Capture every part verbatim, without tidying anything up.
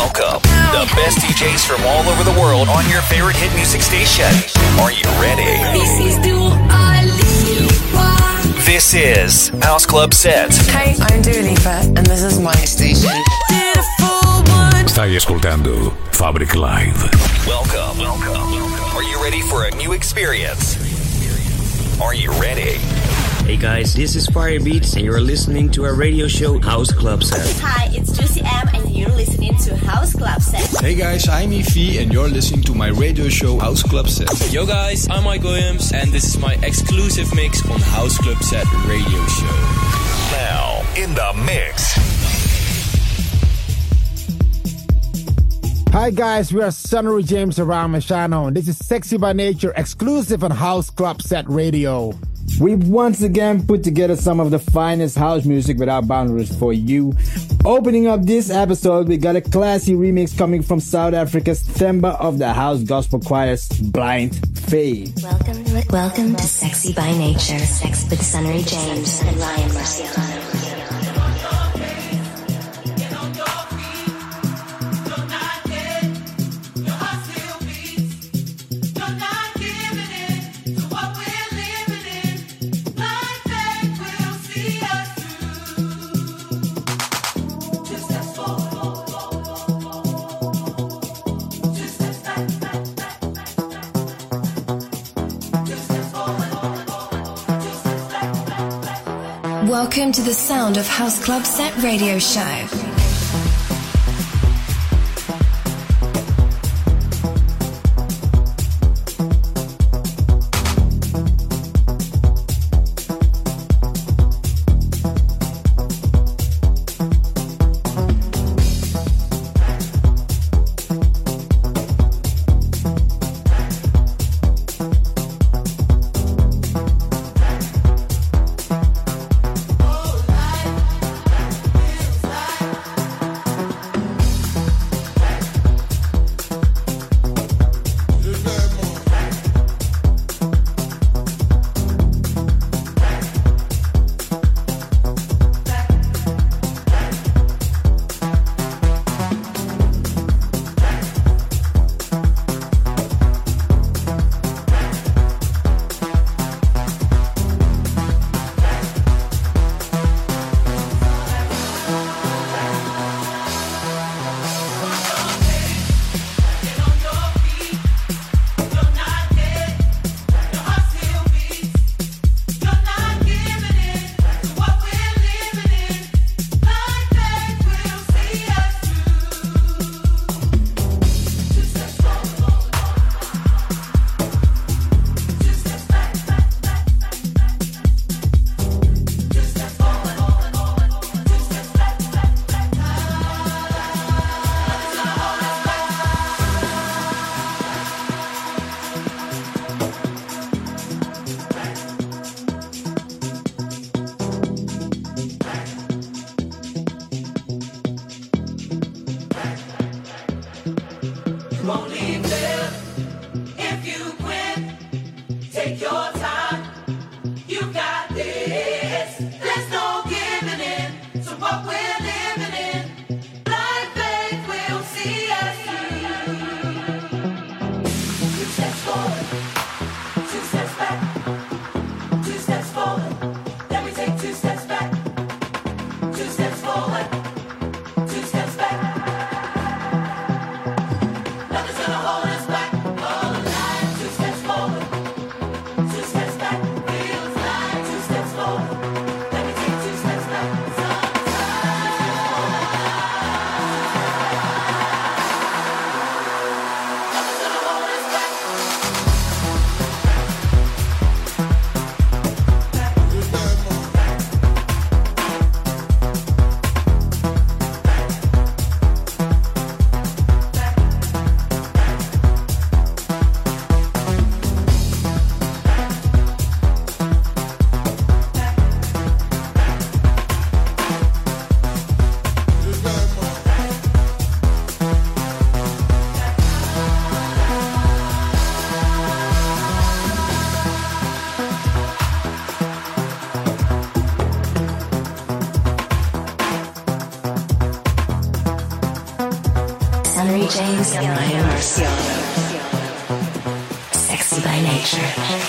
Welcome, the best D Js from all over the world on your favorite hit music station. Are you ready? This is Dua Lipa. This is House Club Set. Hey, I'm Dua Lipa and this is my station. Stai ascoltando Fabric Live. Welcome, welcome. Are you ready for a new experience? Are you ready? Hey guys, this is Firebeats and you're listening to our radio show House Club Set. Hi, it's Juicy M and you're listening to House Club Set. Hey guys, I'm Efi and you're listening to my radio show House Club Set. Yo guys, I'm Mike Williams and this is my exclusive mix on House Club Set radio show. Now, in the mix. Hi guys, we are Sunnery James around Machano and this is Sexy by Nature exclusive on House Club Set Radio. We've once again put together some of the finest house music without boundaries for you. Opening up this episode, we got a classy remix coming from South Africa's Themba of the House Gospel Choir's Blind Faith. Welcome, welcome to Sexy by Nature, Sex with Sunnery James and Ryan Marciano. Welcome to the sound of House Club Set radio show. Nothing's gonna hold Sunnery James and Ryan Marciano. Sexy by nature.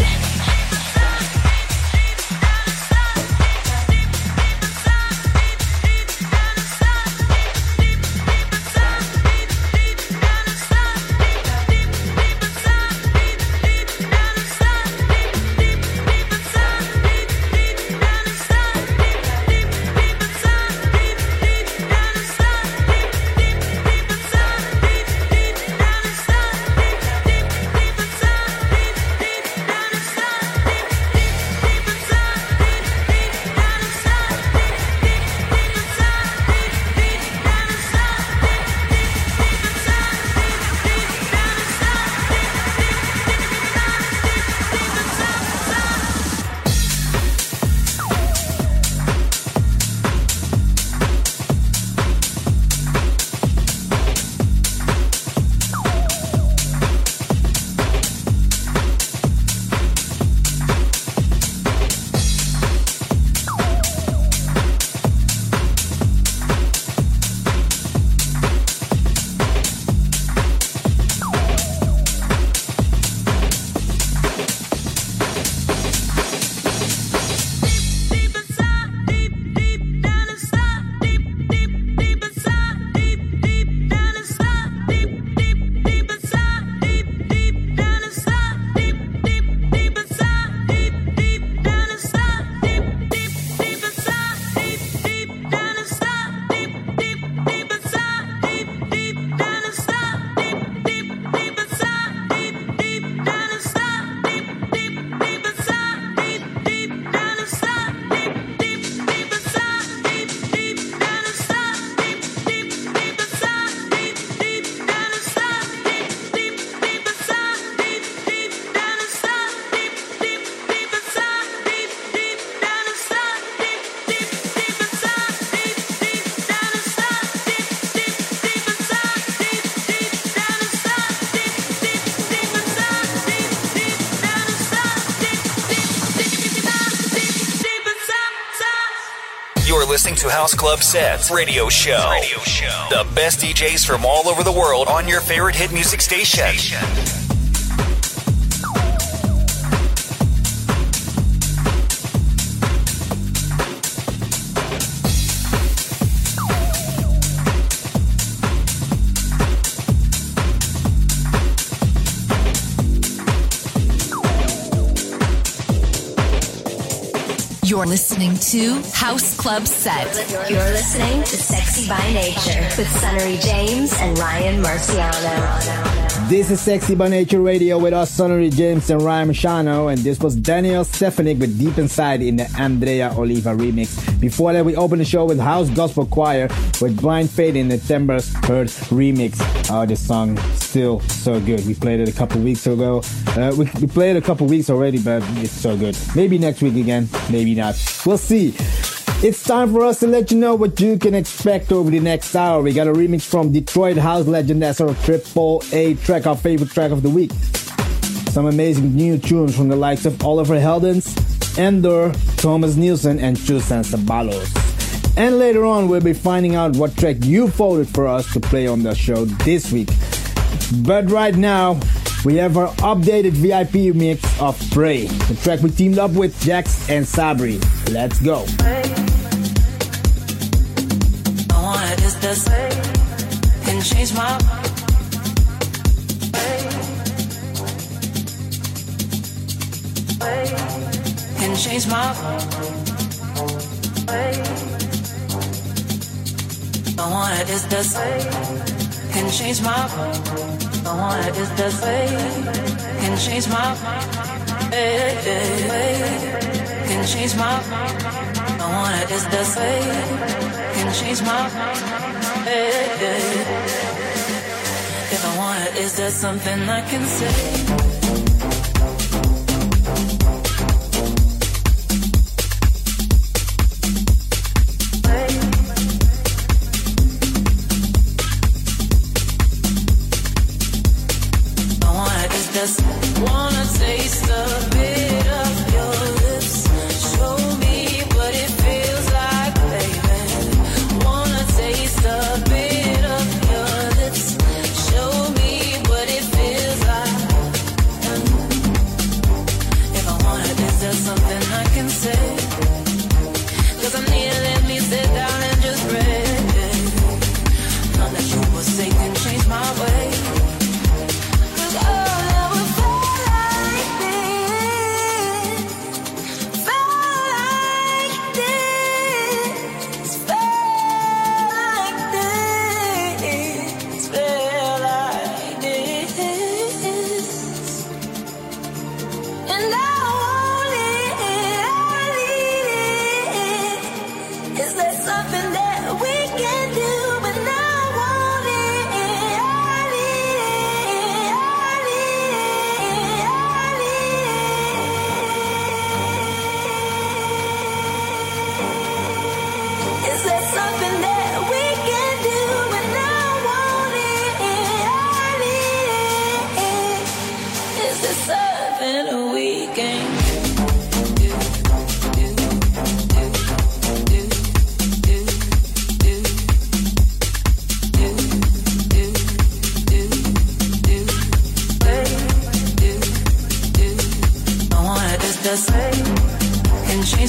Listening to House Club Sets Radio Show. Radio Show. The best D Js from all over the world on your favorite hit music station. station. You're listening to House Club Set. You're listening to Sexy by Nature with Sunnery James and Ryan Marciano. This is Sexy by Nature Radio with us, Sunnery James and Ryan Marciano, and this was Daniel Stefanik with Deep Inside in the Andrea Oliva remix. Before that, we opened the show with House Gospel Choir with Blind Faith in the Timbers Heard remix. Oh, this song still so good. We played it a couple weeks ago. Uh, we, we played it a couple weeks already, but it's so good. Maybe next week again, maybe not. We'll see. It's time for us to let you know what you can expect over the next hour. We got a remix from Detroit house legend as our triple A track, our favorite track of the week. Some amazing new tunes from the likes of Oliver Heldens, Endor, Thomas Nielsen, and Chusan Sabalos. And later on, we'll be finding out what track you voted for us to play on the show this week. But right now, we have our updated V I P mix of Pray, the track we teamed up with Jax and Sabri. Let's go. I wanna just this can change my can change my I wanna just this can change my I wanna just this can change my can change my I wanna just this can change my if I want it, is there something I can say? Just wanna taste a bit of your lips. Show me what it feels like, baby. Wanna taste a bit of your lips.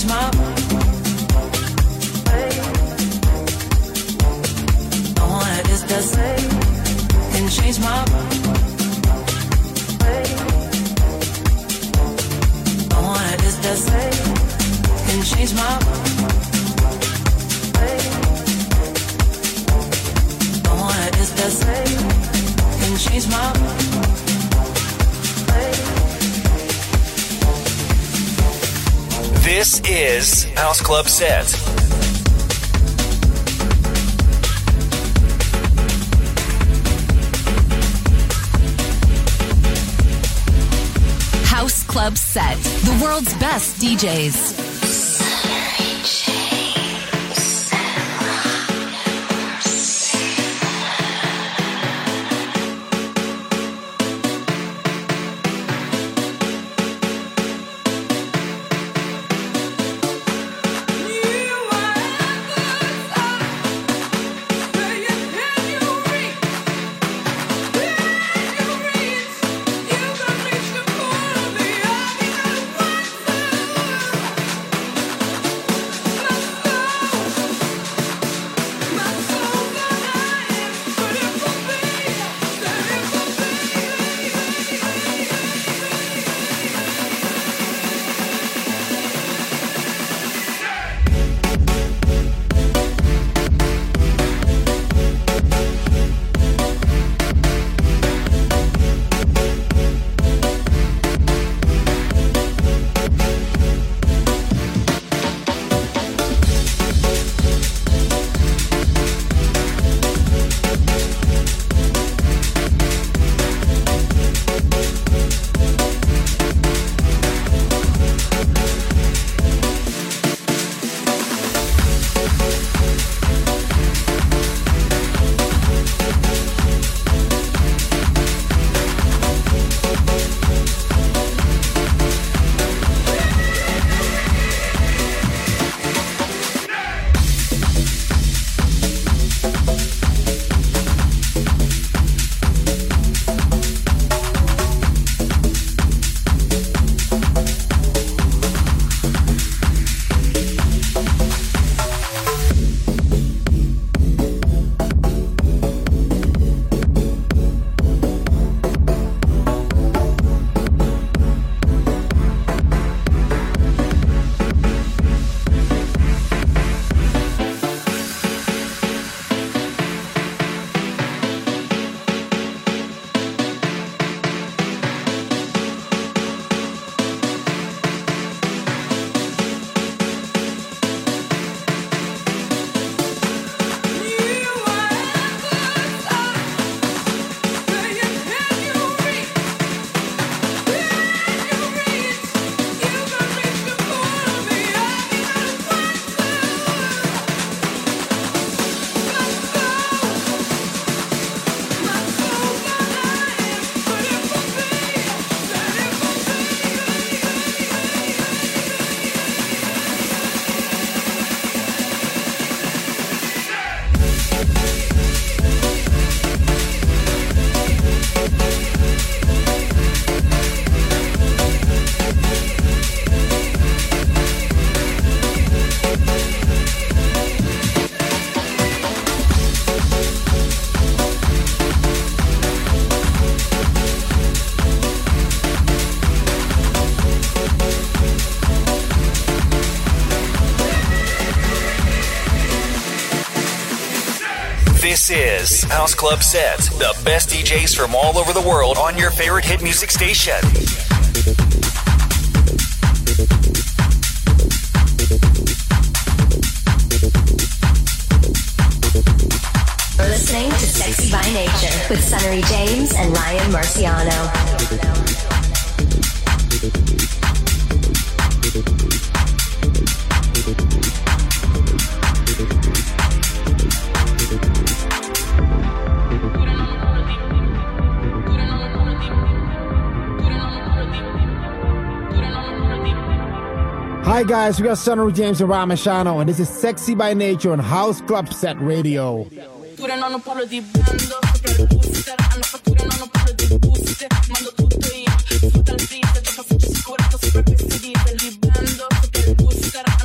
change my way. I want it is the same. Can change my way. I want it is the same. Can change my way. I want it is the same. Can change my way. This is House Club Set. House Club Set, the world's best D Js. This is House Club Set, the best D Js from all over the world on your favorite hit music station. You're listening to Sexy by Nature with Sunnery James and Ryan Marciano. Hi guys, we got Sunnery James and Ryan Marciano, and this is Sexy by Nature on House Club Set Radio. Sicura, sto sopra questi diesel, libando, sopra il booster.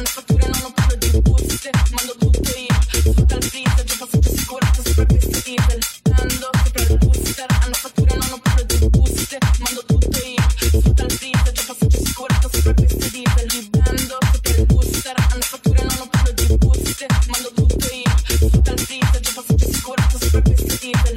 diesel. Ando sopra il booster, hanno fatture, non ho parlo di buste. Mando tutto io, sfrutta il diesel, già passaggio sicurezza sopra questi diesel. Ando sopra il booster, hanno fatture, non ho parlo di buste. Mando tutto io, sfrutta il diesel, già passaggio sicurezza sopra questi diesel.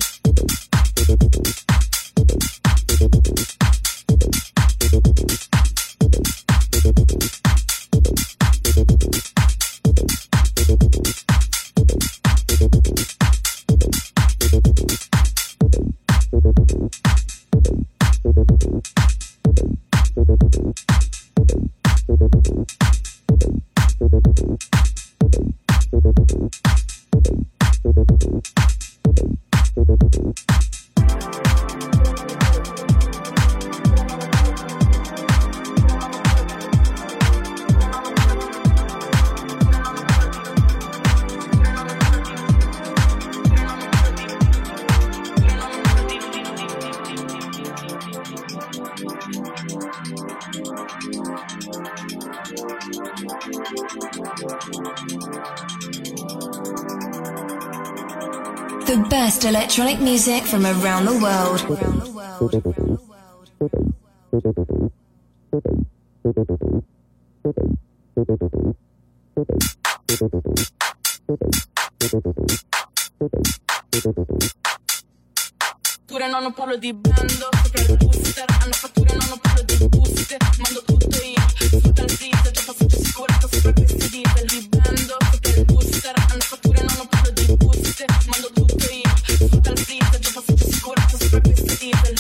The best electronic music from around the world. Around the world. Fatture, non ho parlo di blando, sopra il booster. Hanno fatture, non ho parlo di buste. Mando tutto io, sfrutta il diesel, già passaggio sicurezza sopra questi diesel. Di blando, sopra il booster. Hanno fatture, non ho parlo di buste. Mando tutto io, sfrutta il diesel, già passaggio sicurezza sopra questi diesel.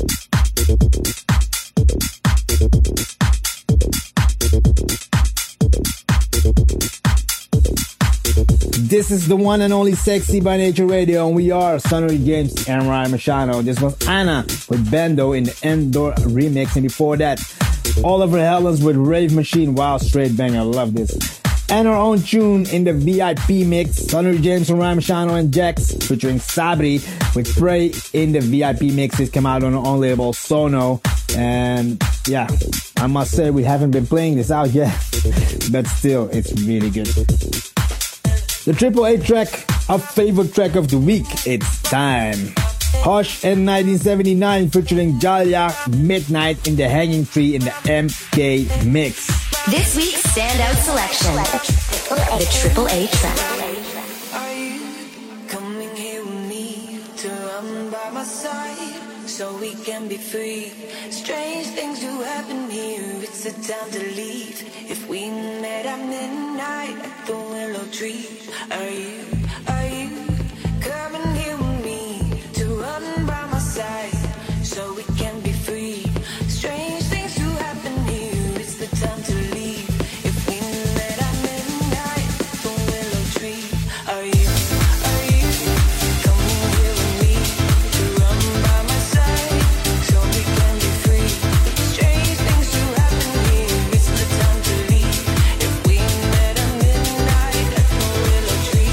This is the one and only Sexy by Nature Radio, and we are Sonny James and Ryan Machado. This was Anna with Bando in the Endor remix, and before that, Oliver Heldens with Rave Machine. Wow, straight banger, I love this. And our own tune in the V I P mix, Sonny James and Ryan Machado and Jax featuring Sabri with Spray in the V I P mix. It came out on our own label, Sono. And yeah, I must say we haven't been playing this out yet, but still, it's really good. The Triple A track, our favorite track of the week, it's time. Hush and nineteen seventy-nine featuring Jalia Midnight in the Hanging Tree in the M K mix. This week's standout selection, the Triple A track. Are you coming here with me to run by my side so we can be free? Strange things do happen here, it's the time to leave. If we met at midnight at the willow tree, are you, are you coming here with me to run by my side so we can be free? Strange things do happen here, it's the time to leave. If we met at midnight at the willow tree, are you, are you coming here with me to run by my side so we can be free? Strange things do happen here, it's the time to leave. If we met at midnight at the willow tree.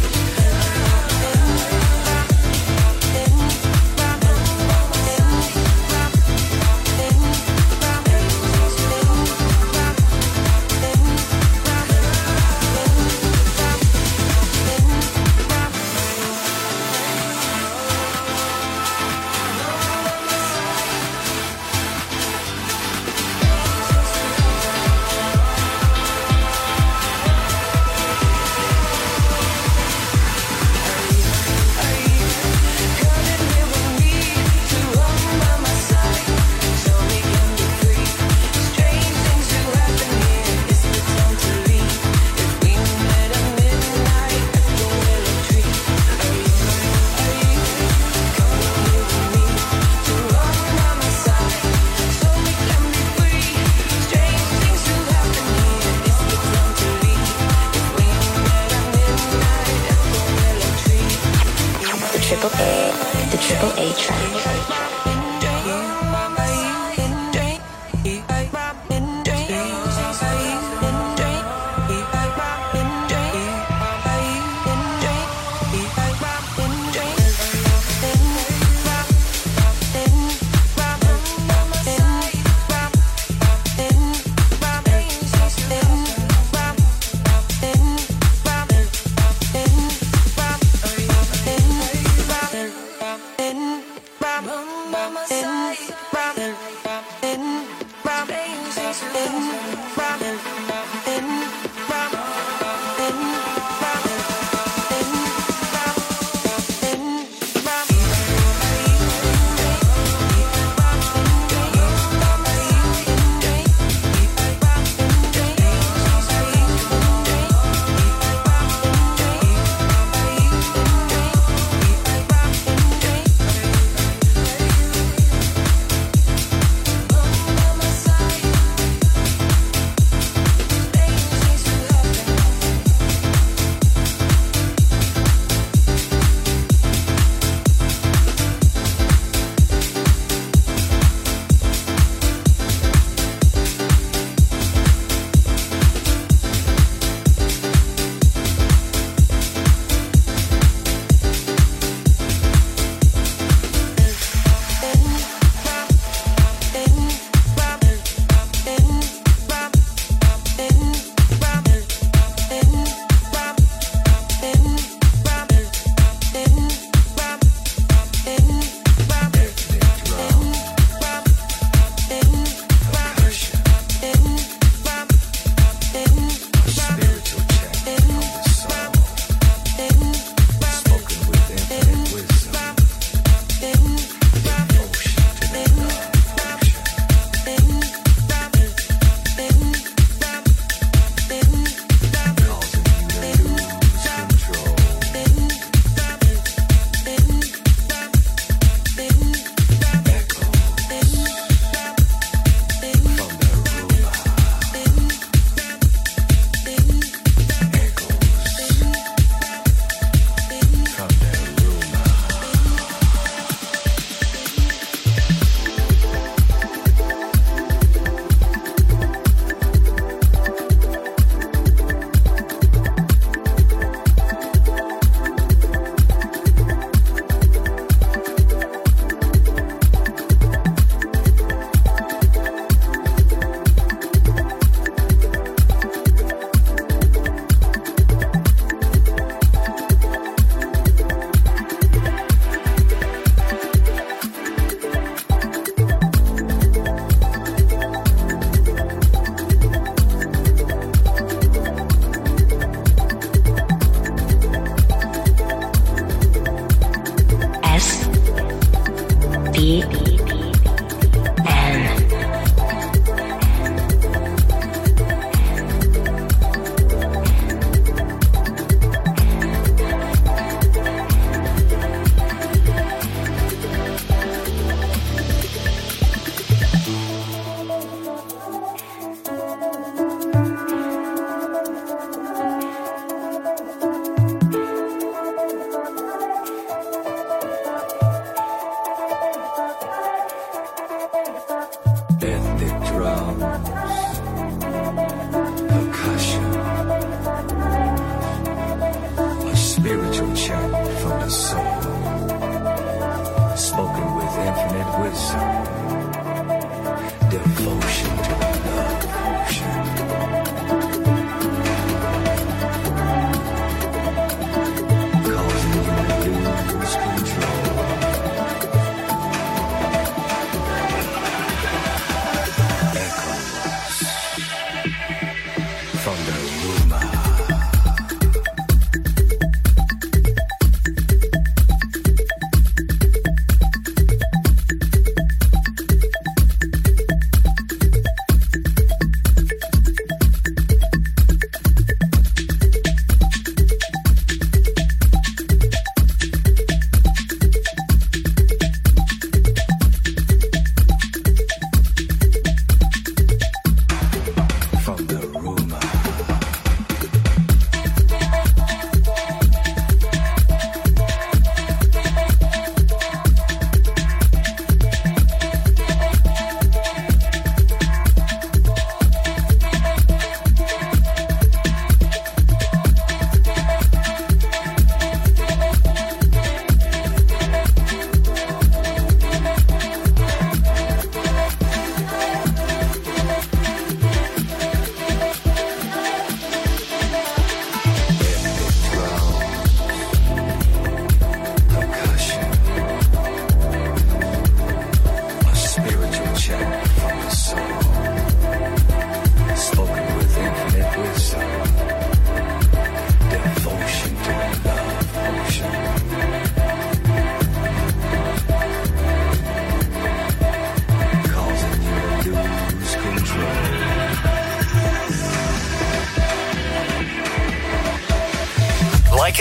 Triple A, the Triple A track.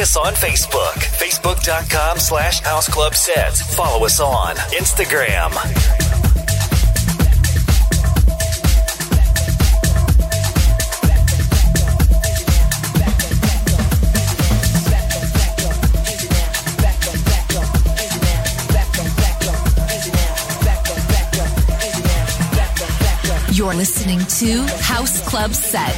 us on Facebook, facebook.com slash House Club Sets. Follow us on Instagram. You're listening to House Club Set.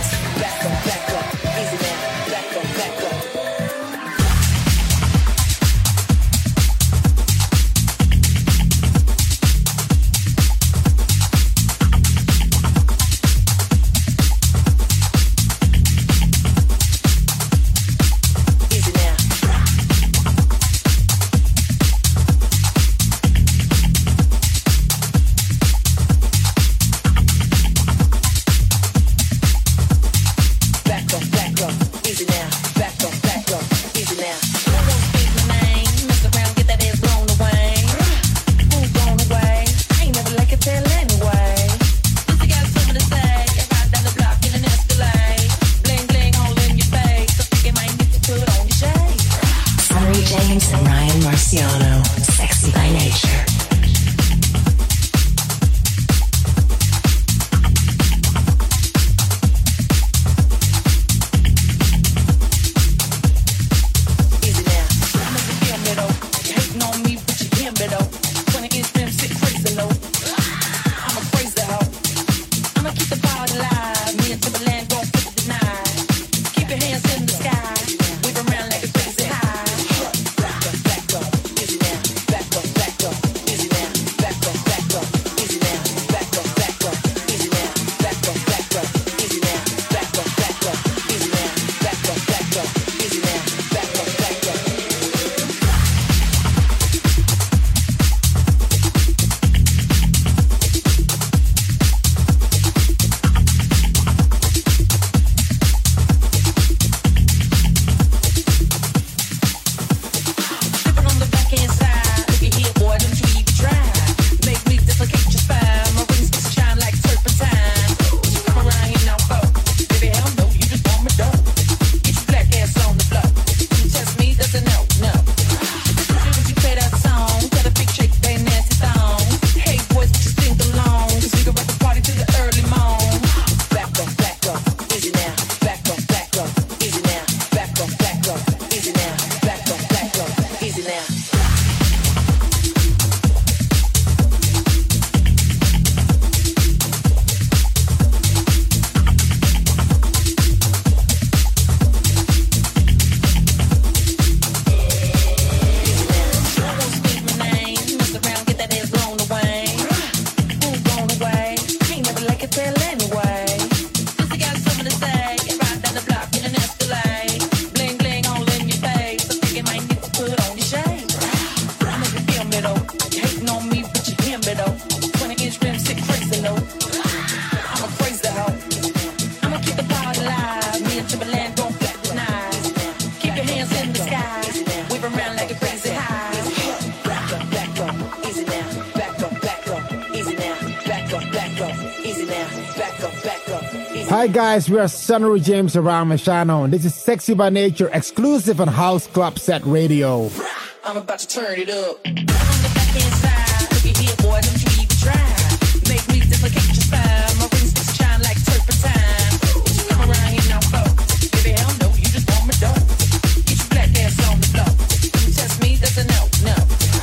Hi guys, we are Sunnery James and Ryan Marciano, and this is Sexy by Nature, exclusive on House Club Set Radio. I'm about to turn it up. On the back inside, look at here, boy, don't you even try. Make me dislocate your spine. My rings just shine like turpentine. You come around here now, folks. Baby, hell no, you just want me dope. Get your black ass on the floor. You test me, that's a no, no.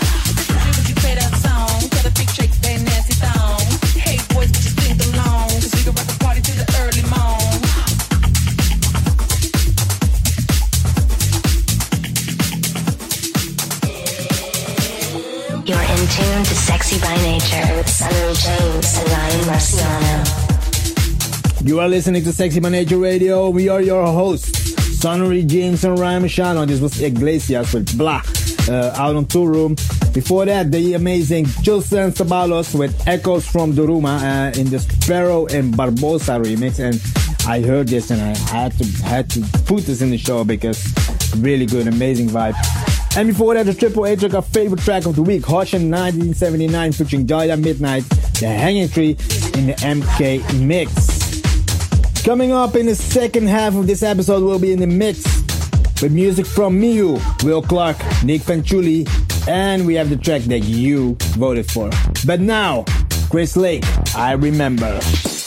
Would you play that song? Got a big shake, that nasty thong. Hey, boys, but you sing along. Cause we can rock the party to the early morn. You're in tune to Sexy by Nature with Sunnery James and Ryan Marciano. You are listening to Sexy by Nature Radio. We are your hosts, Sunnery James and Ryan Marciano. This was Iglesias with Blah, uh, out on Tour Room. Before that, the amazing Chilson Sabalos with Echoes from Duruma uh, in the Sparrow and Barbosa remix. And I heard this and I had to had to put this in the show because really good, amazing vibe. And before that, the Triple A took our favorite track of the week, Hoshin nineteen seventy-nine featuring Joya Midnight, The Hanging Tree in the M K mix. Coming up in the second half of this episode, we'll be in the mix with music from Miu, Will Clark, Nick Fanciulli, and we have the track that you voted for. But now, Chris Lake, I Remember.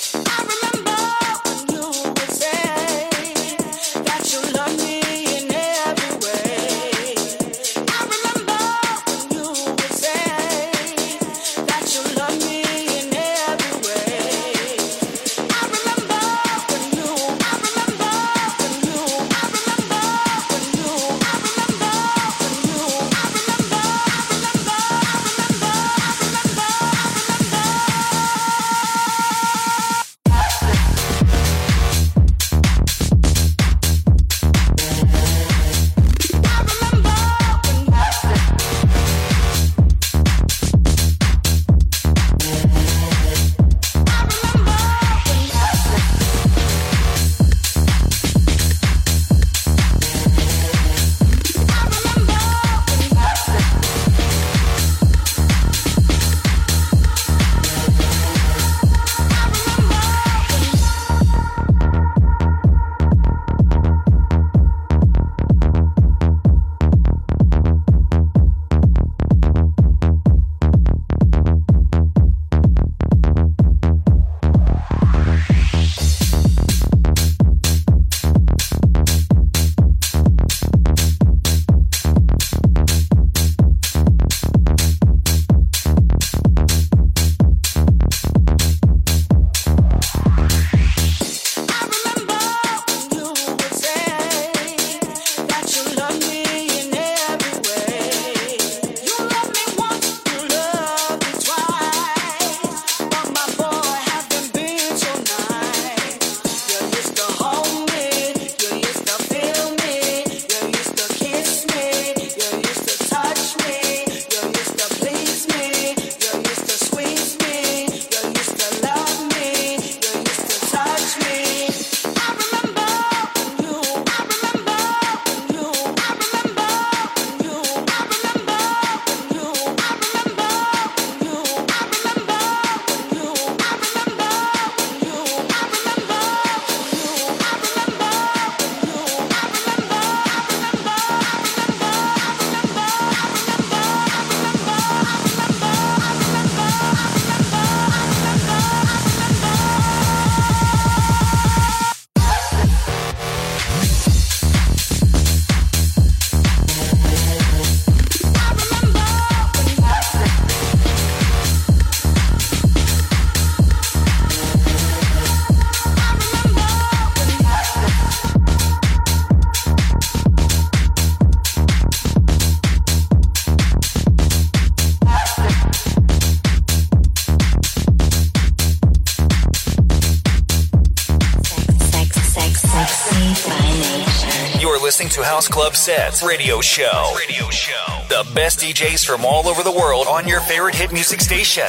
Listening to House Club Sets Radio Show. Radio Show. The best D Js from all over the world on your favorite hit music station.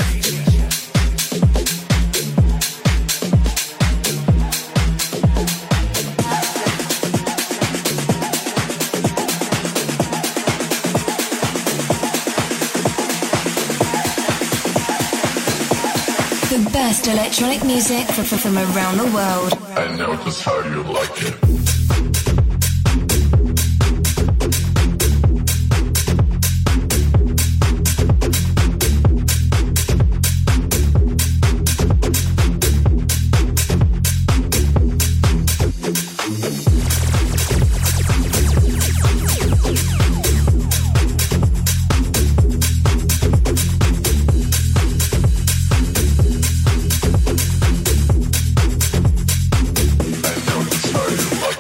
The best electronic music from, from around the world. I know just how you like it. I know just how you like it.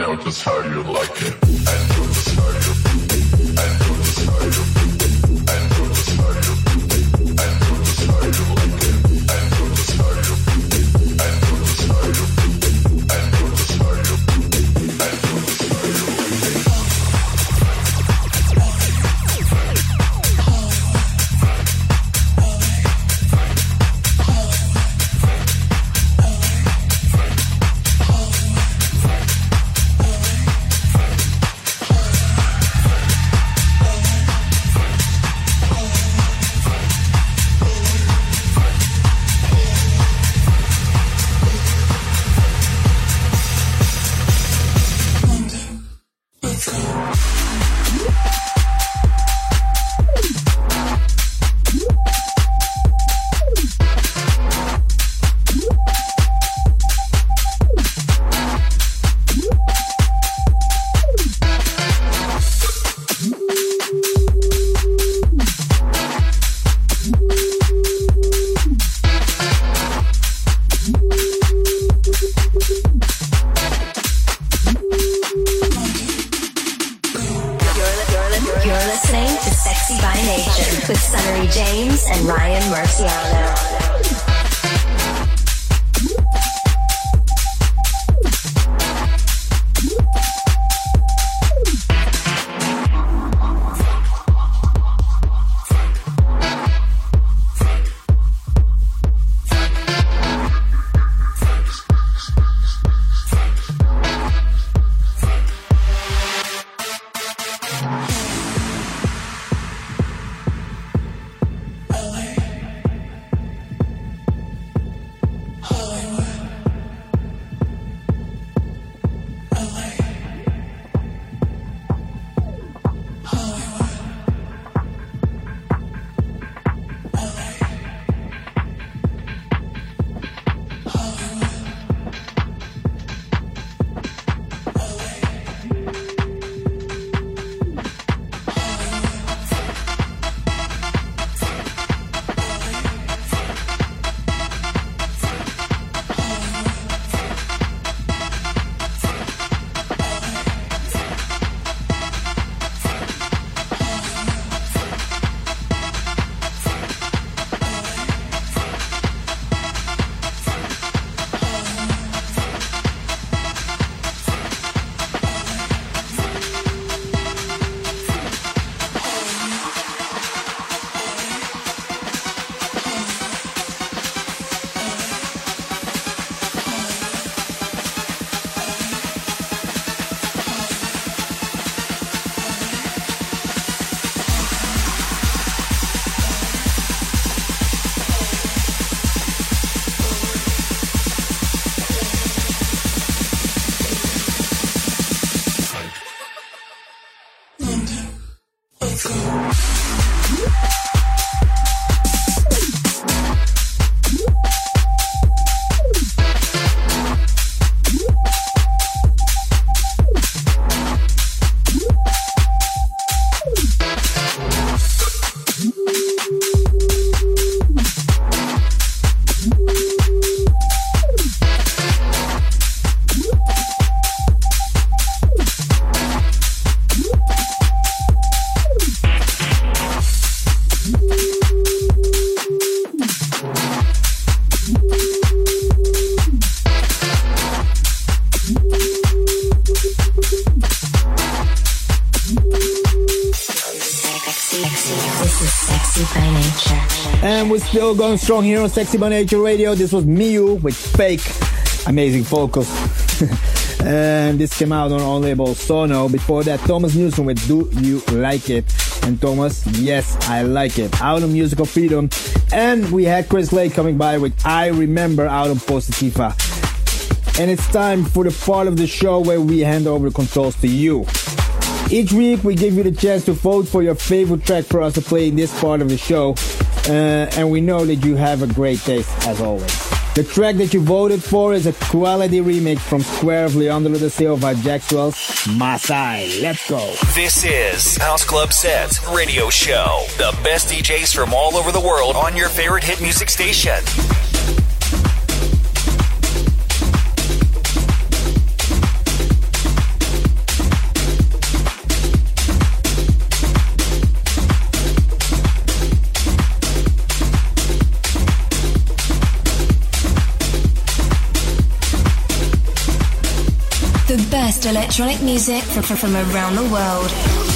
know just how you like it. I know just how you. I know just how you. I know just how you. I know just how you like it. I know just how you. I know just how you. I know just how you. I know just how you like it. And we're still going strong here on Sexy by Nature Radio. This was Miu with Fake. Amazing vocals. And this came out on our label Sono. Before that, Thomas Newson with Do You Like It? And Thomas, yes, I like it. Out on Musical Freedom. And we had Chris Lake coming by with I Remember out on Positiva. And it's time for the part of the show where we hand over the controls to you. Each week we give you the chance to vote for your favorite track for us to play in this part of the show. Uh, and we know that you have a great taste as always. The track that you voted for is a quality remix from Square of Leandro da Silva Jaxwell's Masai. Let's go. This is House Club Set Radio Show. The best D Js from all over the world on your favorite hit music station. best electronic music from, from around the world.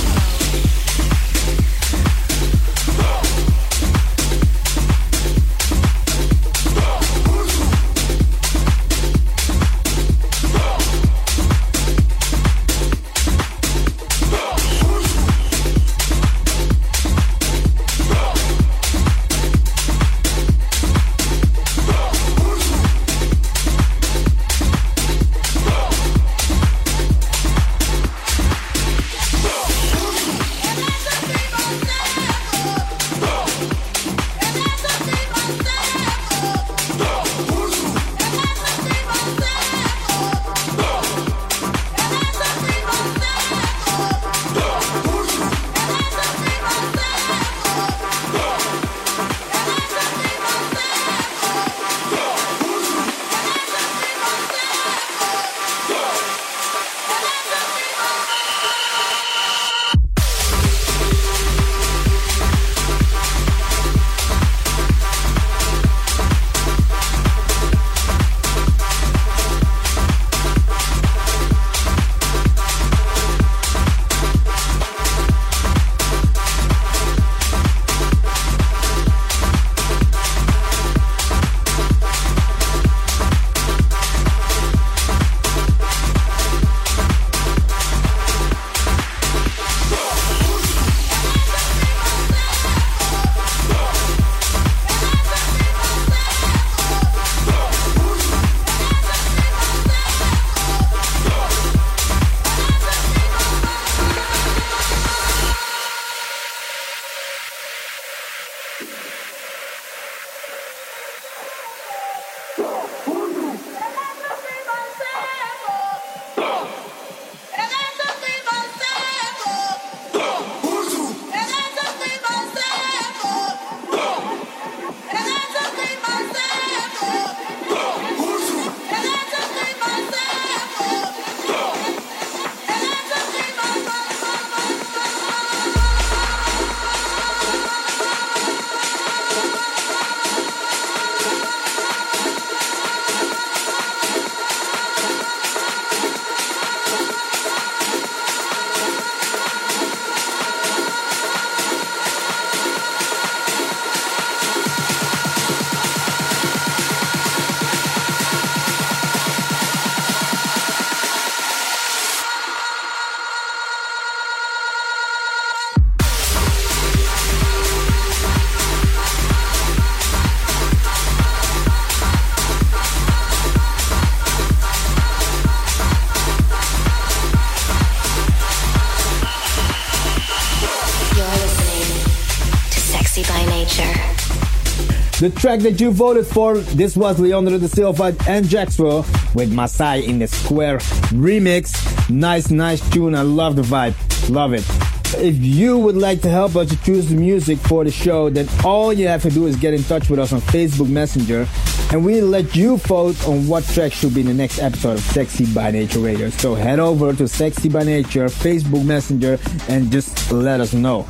The track that you voted for, this was Leandro da Silva and Jaxwell with Masai in the Square remix. Nice, nice tune. I love the vibe. Love it. If you would like to help us to choose the music for the show, then all you have to do is get in touch with us on Facebook Messenger, and we'll let you vote on what track should be in the next episode of Sexy by Nature Radio. So head over to Sexy by Nature Facebook Messenger and just let us know.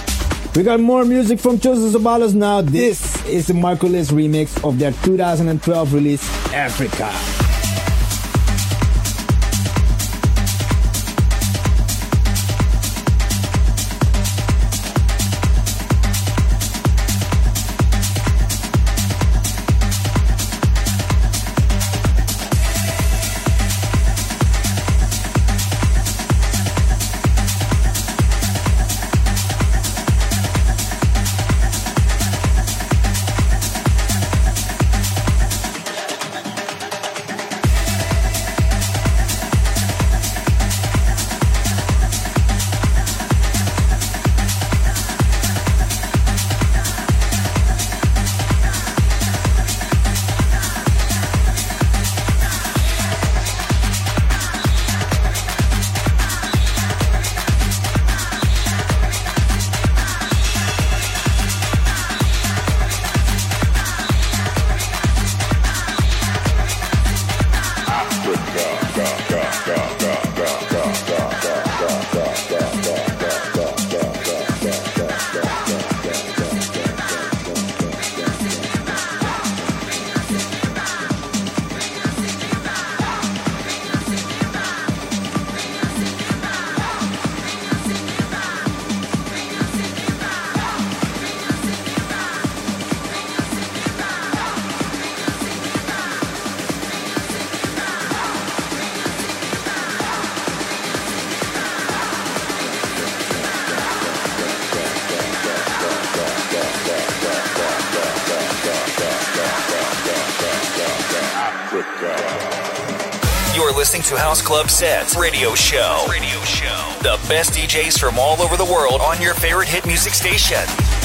We got more music from Joseph Zabalos now. This is the Marco Liz remix of their two thousand twelve release, Africa. listening to House Club Sets Radio Show. Radio Show. The best D Js from all over the world on your favorite hit music station.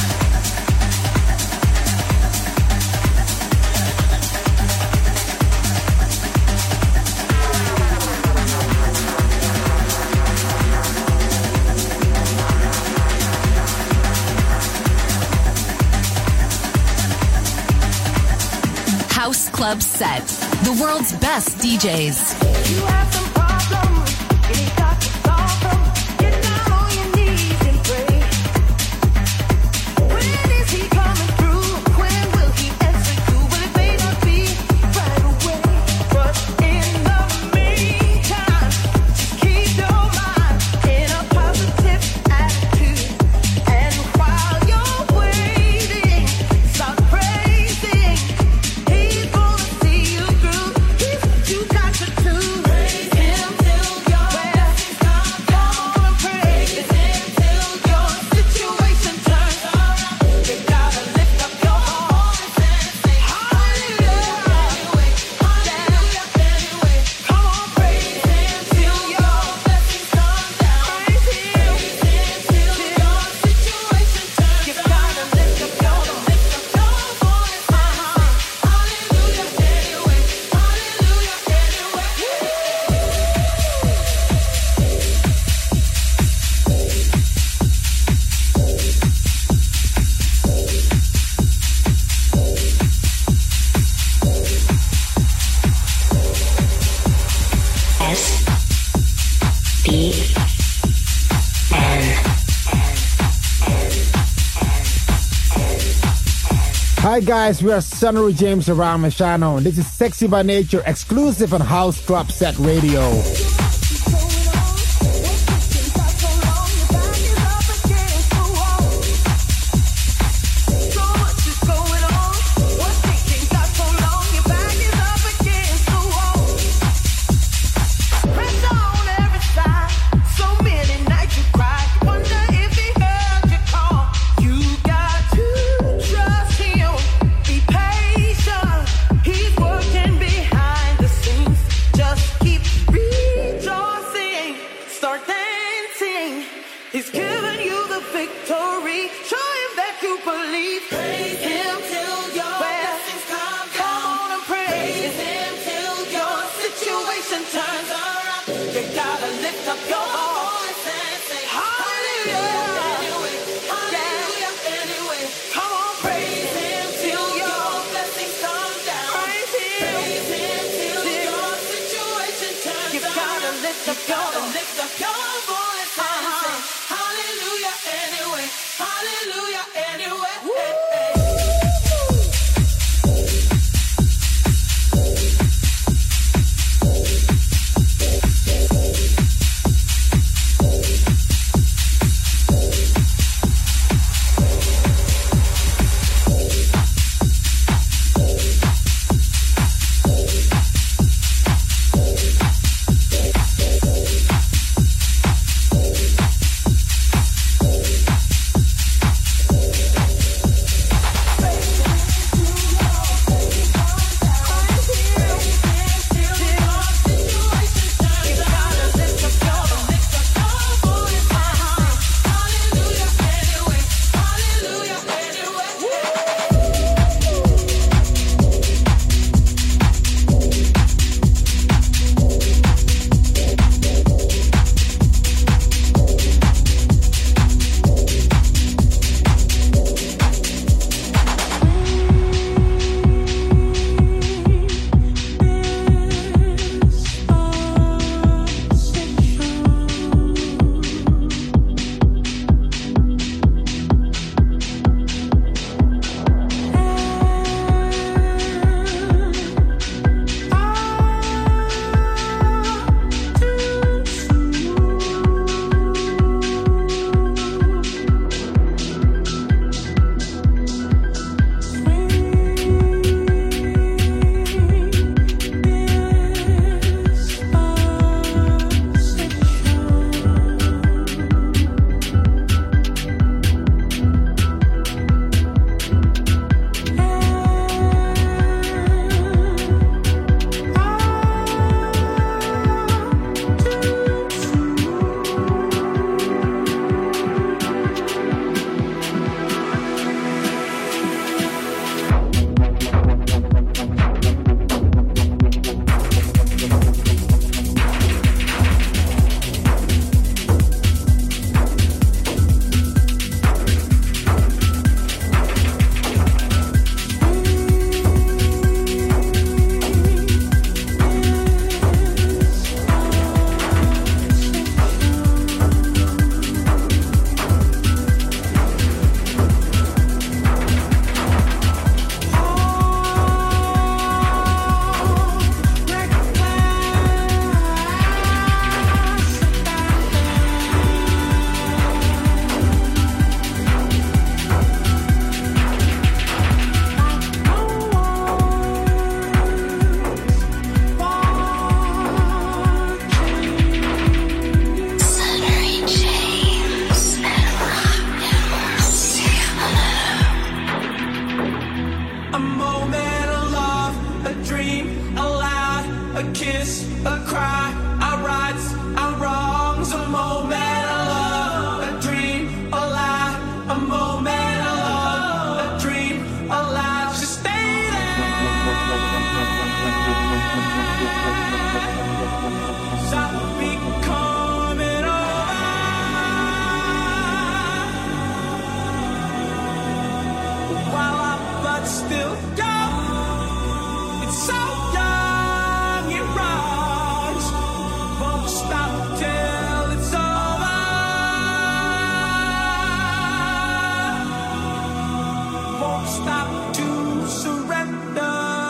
House Club Set, the world's best D Js. You have some problems, you need God to solve them. Get down on your knees and pray. When is He coming through? When will He answer you? Well, it may not be right away, but in the meantime, just keep your mind in a positive attitude. And while you're waiting, start praising. He's gonna see you through. He's what you got to do. Praise Him till your blessings come down. Come on and praise Him till your situation turns around. You gotta lift up your voice and say hallelujah. Anyway, hallelujah. Anyway, come on, praise Him till your blessings come down. Praise Him till your situation turns around. You gotta lift up your lift up your voice and say hallelujah. Anyway, hallelujah. S B N. Hi guys, we are Sunnery James and Ram Machano, and this is Sexy by Nature, exclusive on House Club Set Radio. He's working behind the scenes. Just keep kiss, a cry, our rights, our wrongs, a moment of love, a dream, a lie, a moment of love, a dream, a lie, just stay there. Stop me coming over. While our blood's still young, it's so young, it runs. Won't stop till it's over. Won't stop to surrender.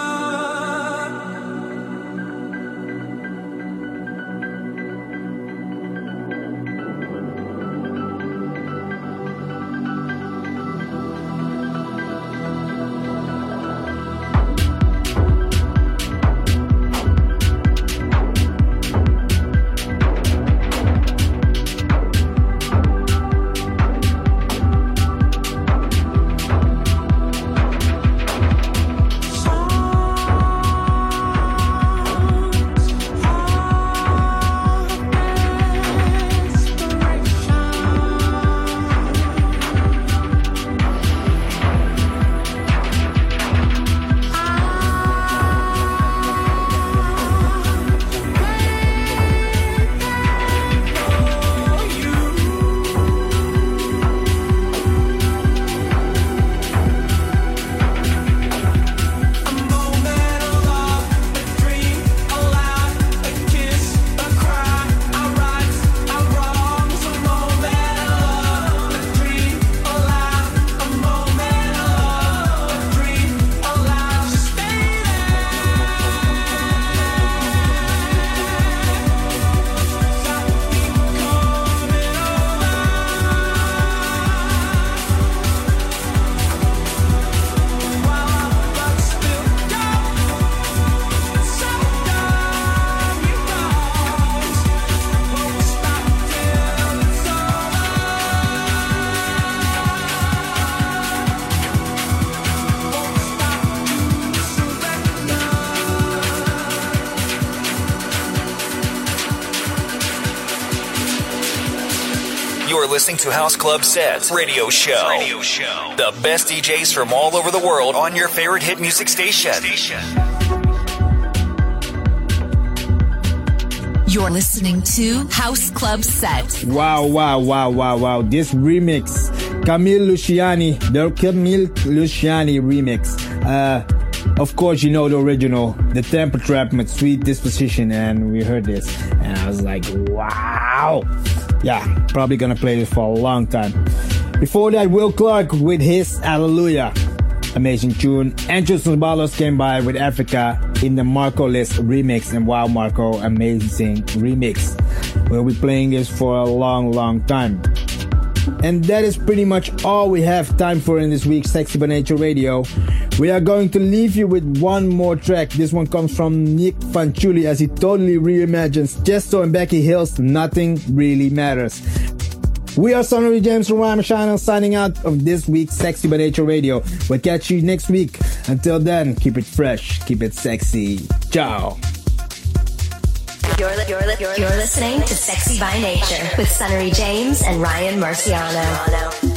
You're listening to House Club Sets Radio Show. Radio Show. The best D Js from all over the world on your favorite hit music station. You're listening to House Club Set. Wow, wow, wow, wow, wow. This remix, Camille Luciani, the Camille Luciani remix. Uh, of course, you know the original, the Tempo Trap with Sweet Disposition, and we heard this, and I was like, wow. Yeah, probably gonna play this for a long time. Before that, Will Clark with his Hallelujah. Amazing tune. Andrew Sabalos came by with Africa in the Marco List remix. And wow, Marco, amazing remix. We'll be playing this for a long, long time. And that is pretty much all we have time for in this week's Sexy by Nature Radio. We are going to leave you with one more track. This one comes from Nick Fanciulli as he totally reimagines Chesto and Becky Hill's Nothing Really Matters. We are Sonny James from Rhyme Channel signing out of this week's Sexy by Nature Radio. We'll catch you next week. Until then, keep it fresh, keep it sexy. Ciao. You're, li- you're, li- you're, you're listening to Sexy by Nature with Sonny James and Ryan Marciano.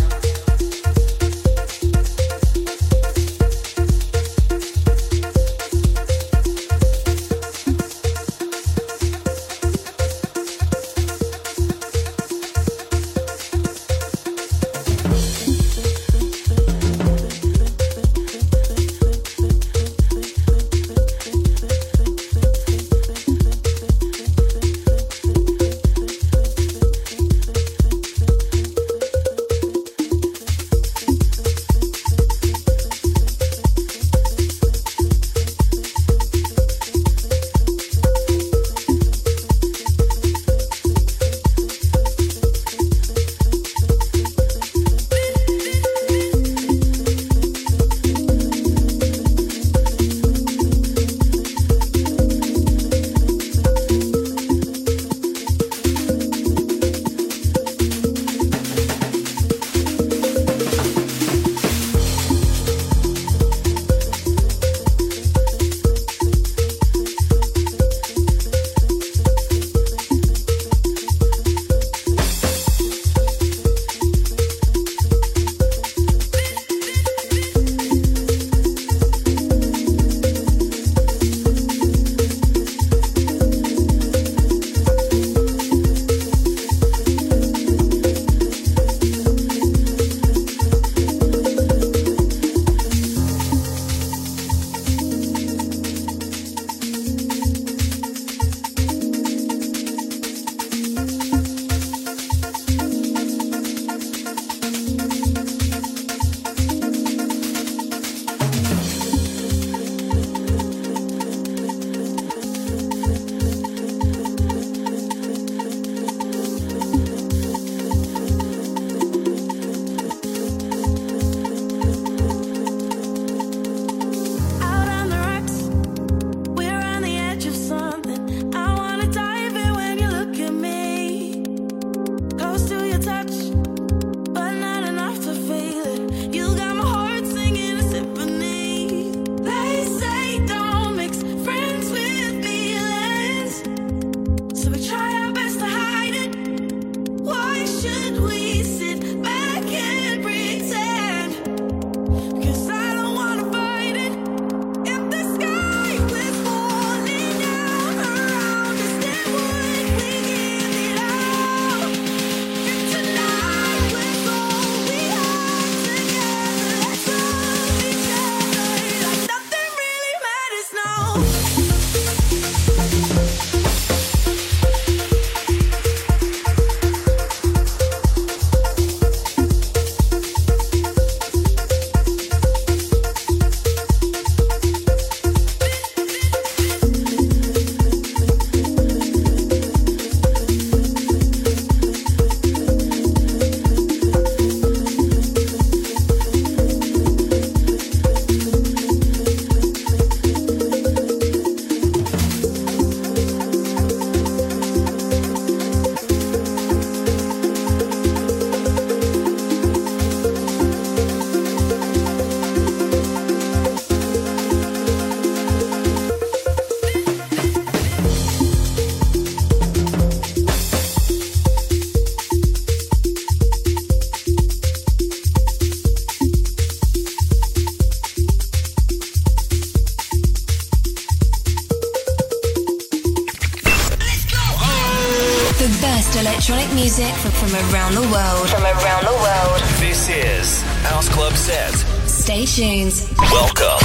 best electronic music from, from around the world. From around the world. This is House Club Set. Stay tuned. Welcome.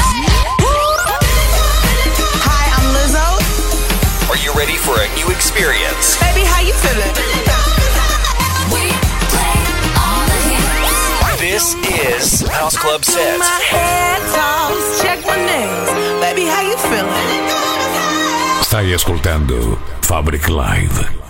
Hi, I'm Lizzo. Are you ready for a new experience? Baby, how you feeling? We play all the hits. This is House Club Set. My head toss, check my nails. Baby, how you feeling? Stai ascoltando Fabric Live.